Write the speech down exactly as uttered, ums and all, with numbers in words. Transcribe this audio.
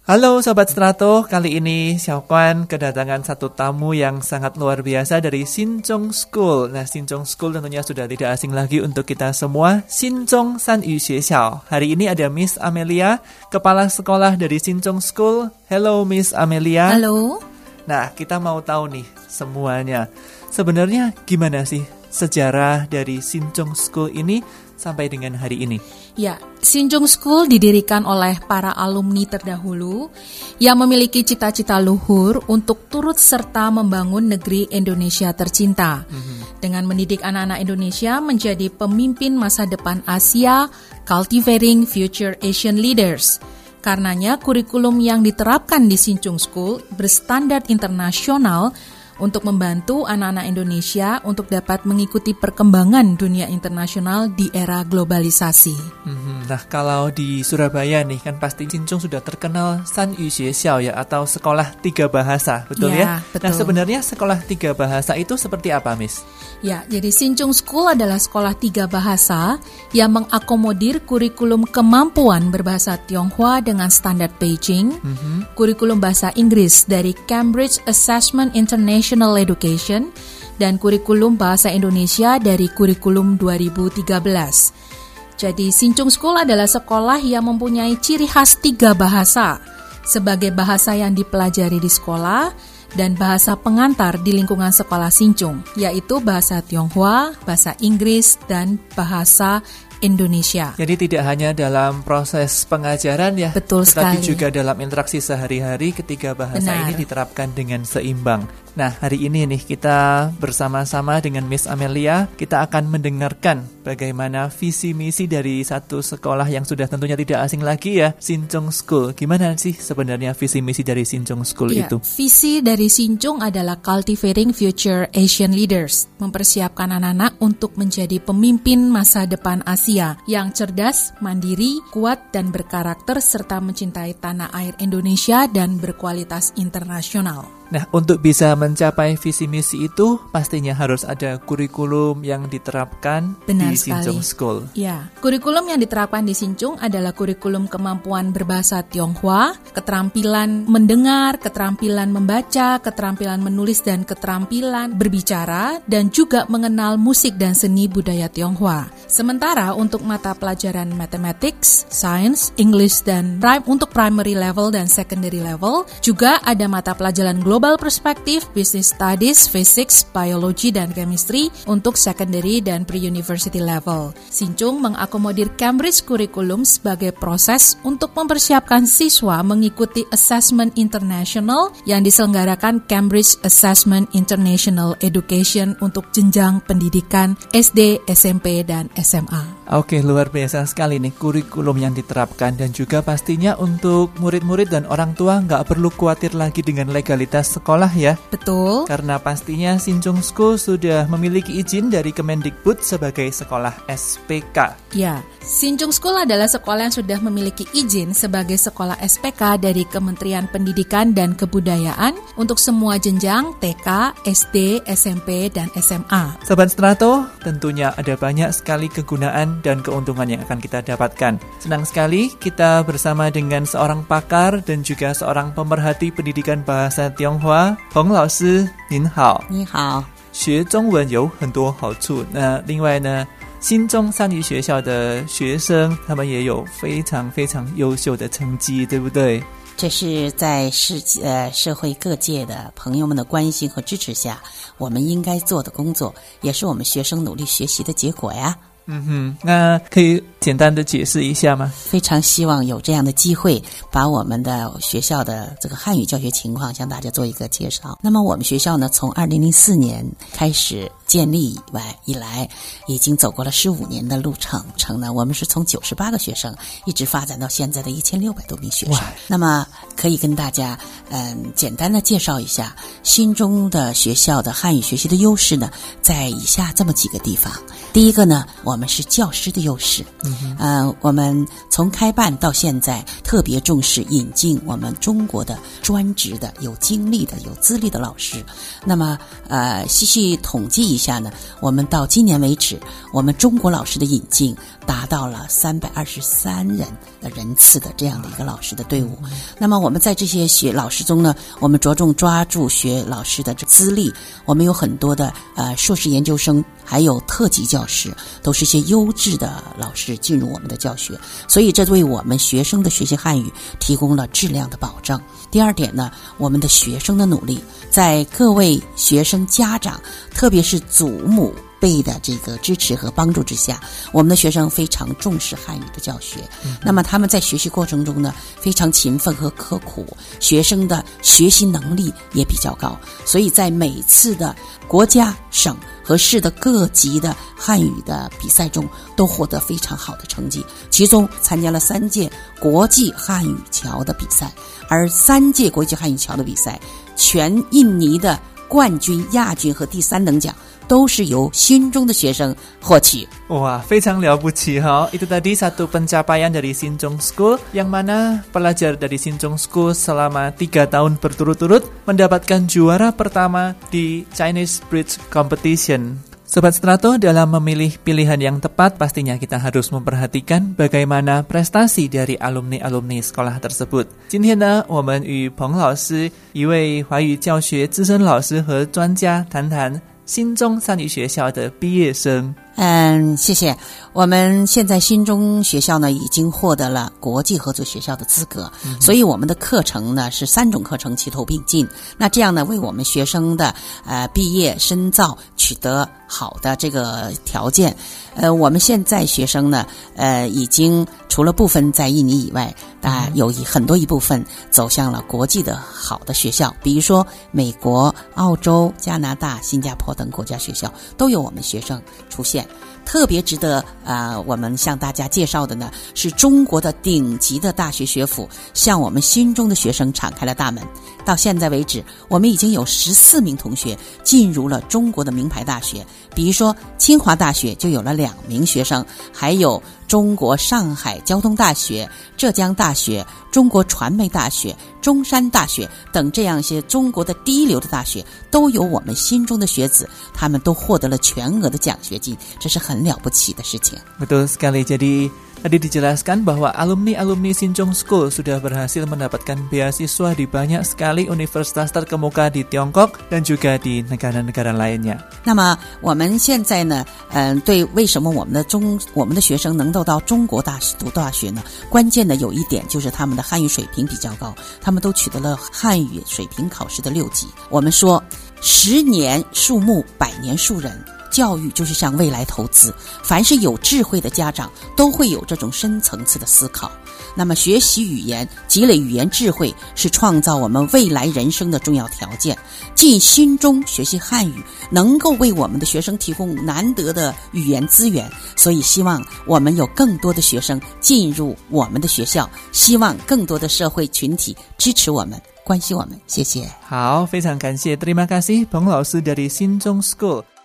Halo Sobat Strato, kali ini Xiaokuan kedatangan satu tamu yang sangat luar biasa dari Xinzhong School. Nah, Xinzhong School tentunya sudah tidak asing lagi untuk kita semua, Xinzhong Sanyu Xuexiao. Hari ini ada Miss Amelia, kepala sekolah dari Xinzhong School. Hello Miss Amelia. Halo. Nah, kita mau tahu nih semuanya. Sebenarnya gimana sih sejarah dari Xinzhong School ini sampai dengan hari ini? Ya, Xinzhong School didirikan oleh para alumni terdahulu yang memiliki cita-cita luhur untuk turut serta membangun negeri Indonesia tercinta. Mm-hmm. Dengan mendidik anak-anak Indonesia menjadi pemimpin masa depan Asia, cultivating future Asian leaders. Karenanya, kurikulum yang diterapkan di Xinzhong School berstandar internasional untuk membantu anak-anak Indonesia untuk dapat mengikuti perkembangan dunia internasional di era globalisasi. Hmm, nah, kalau di Surabaya nih kan pasti Xinzhong sudah terkenal Sanyu Xuexiao ya, atau sekolah tiga bahasa, betul ya? ya? Betul. Nah, sebenarnya sekolah tiga bahasa itu seperti apa, Miss? Ya, jadi Xinzhong School adalah sekolah tiga bahasa yang mengakomodir kurikulum kemampuan berbahasa Tionghoa dengan standar Beijing, mm-hmm. kurikulum bahasa Inggris dari Cambridge Assessment International Education, dan kurikulum bahasa Indonesia dari kurikulum dua ribu tiga belas. Jadi Xinzhong School adalah sekolah yang mempunyai ciri khas tiga bahasa sebagai bahasa yang dipelajari di sekolah dan bahasa pengantar di lingkungan sekolah Xinzhong, yaitu bahasa Tionghoa, bahasa Inggris, dan bahasa Indonesia. Jadi tidak hanya dalam proses pengajaran ya, betul tetapi sekali. juga dalam interaksi sehari-hari ketiga bahasa Benar. ini diterapkan dengan seimbang. Nah, hari ini nih kita bersama-sama dengan Miss Amelia, kita akan mendengarkan bagaimana visi misi dari satu sekolah yang sudah tentunya tidak asing lagi ya, Xinzhong School. Gimana sih sebenarnya visi misi dari Xinzhong School ya, itu? Visi dari Xinzhong adalah cultivating future Asian leaders, mempersiapkan anak-anak untuk menjadi pemimpin masa depan Asia yang cerdas, mandiri, kuat, dan berkarakter serta mencintai tanah air Indonesia dan berkualitas internasional. Nah, untuk bisa mencapai visi misi itu pastinya harus ada kurikulum yang diterapkan Benar di Xinzhong School. Ya, kurikulum yang diterapkan di Xinzhong adalah kurikulum kemampuan berbahasa Tionghoa, keterampilan mendengar, keterampilan membaca, keterampilan menulis, dan keterampilan berbicara, dan juga mengenal musik dan seni budaya Tionghoa. Sementara untuk mata pelajaran mathematics, science, English, dan prime untuk primary level dan secondary level, juga ada mata pelajaran global Global Perspective, Business Studies, Physics, Biology, dan Chemistry untuk secondary dan pre-university level. Xinzhong mengakomodir Cambridge Curriculum sebagai proses untuk mempersiapkan siswa mengikuti Assessment International yang diselenggarakan Cambridge Assessment International Education untuk jenjang pendidikan S D, S M P, dan S M A. Oke, luar biasa sekali nih kurikulum yang diterapkan, dan juga pastinya untuk murid-murid dan orang tua nggak perlu khawatir lagi dengan legalitas sekolah ya. Betul. Karena pastinya Xinzhong School sudah memiliki izin dari Kemendikbud sebagai sekolah S P K. Ya, Xinzhong School adalah sekolah yang sudah memiliki izin sebagai sekolah S P K dari Kementerian Pendidikan dan Kebudayaan untuk semua jenjang T K, S D, S M P, dan S M A. Sobat Strato, tentunya ada banyak sekali kegunaan dan keuntungan yang akan kita dapatkan. Senang sekali kita bersama dengan seorang pakar dan juga seorang pemerhati pendidikan bahasa Tionghoa, Peng Lao Sư,您好。 你好。 学中文有很多好处。那另外呢，新中三语学校的学生，他们也有非常非常优秀的成绩，对不对？ 这是在世呃社会各界的朋友们的关心和支持下，我们应该做的工作，也是我们学生努力学习的结果呀。 嗯哼，那可以简单的解释一下吗？ 非常希望有这样的机会，把我们的学校的这个汉语教学情况向大家做一个介绍。那么我们学校呢，从二零零四年开始建立以外以来，已经走过了十五年的路程。程呢，我们是从九十八个学生一直发展到现在的一千六百多名学生。那么可以跟大家嗯简单的介绍一下新中的学校的汉语学习的优势呢，在以下这么几个地方。第一个呢，我们是教师的优势。嗯，呃，我们从开办到现在，特别重视引进我们中国的专职的、有经历的、有资历的老师。那么，呃，细细统计一下呢，我们到今年为止，我们中国老师的引进达到了三百二十三人的人次的这样的一个老师的队伍。那么我们在这些学老师中呢，我们着重抓住学老师的资历，我们有很多的呃硕士研究生，还有特级教师，都是一些优质的老师进入我们的教学，所以这为我们学生的学习汉语提供了质量的保障。第二点呢，我们的学生的努力，在各位学生家长，特别是祖母辈的这个支持和帮助之下，我们的学生非常重视汉语的教学。嗯、那么他们在学习过程中呢，非常勤奋和刻苦，学生的学习能力也比较高，所以在每次的国家、省和市的各级的汉语的比赛中，都获得非常好的成绩。其中参加了三届国际汉语桥的比赛，而三届国际汉语桥的比赛，全印尼的冠军、亚军和第三等奖都是由新中的学生获取。 Wah, 非常了不起哈！ Itu tadi satu pencapaian dari Sinchong School, yang mana pelajar dari Sinchong School selama tiga tahun berturut-turut mendapatkan juara pertama di Chinese Bridge Competition. Sobat Strato, dalam memilih pilihan yang tepat, pastinya kita harus memperhatikan bagaimana prestasi dari alumni-alumni sekolah tersebut. 今天呢，我们与彭老师，一位华语教学资深老师和专家，谈谈新中三语学校的毕业生。 嗯，谢谢。我们现在新中学校呢，已经获得了国际合作学校的资格，嗯、所以我们的课程呢是三种课程齐头并进。那这样呢，为我们学生的呃毕业深造取得好的这个条件。呃，我们现在学生呢，呃，已经除了部分在印尼以外，啊、呃，有一很多一部分走向了国际的好的学校，比如说美国、澳洲、加拿大、新加坡等国家学校都有我们学生出现。特别值得啊、呃，我们向大家介绍的呢，是中国的顶级的大学学府向我们新中的学生敞开了大门。到现在为止，我们已经有十四名同学进入了中国的名牌大学，比如说清华大学就有了两名学生，还有中国上海交通大学、浙江大学、中国传媒大学、中山大学等这样一些中国的第一流的大学，都有我们新中的学子，他们都获得了全额的奖学金，这是很了不起的事情。 Betul sekali. Jadi tadi dijelaskan bahwa alumni-alumni Sinchong School sudah berhasil mendapatkan beasiswa di banyak sekali universitas terkemuka di Tiongkok dan juga di negara-negara lainnya. 那么我们现在呢，嗯、呃，对为什么我们的中我们的学生能够到中国大读大学呢？关键的有一点就是他们的汉语水平比较高，他们都取得了汉语水平考试的六级。我们说，十年树木，百年树人。教育就是向未来投资，凡是有智慧的家长都会有这种深层次的思考。那么学习语言，积累语言智慧，是创造我们未来人生的重要条件。进新中学习汉语，能够为我们的学生提供难得的语言资源，所以希望我们有更多的学生进入我们的学校，希望更多的社会群体支持我们，关心我们。谢谢。 好，非常感谢，terima kasih Peng老师dari Sinchong School。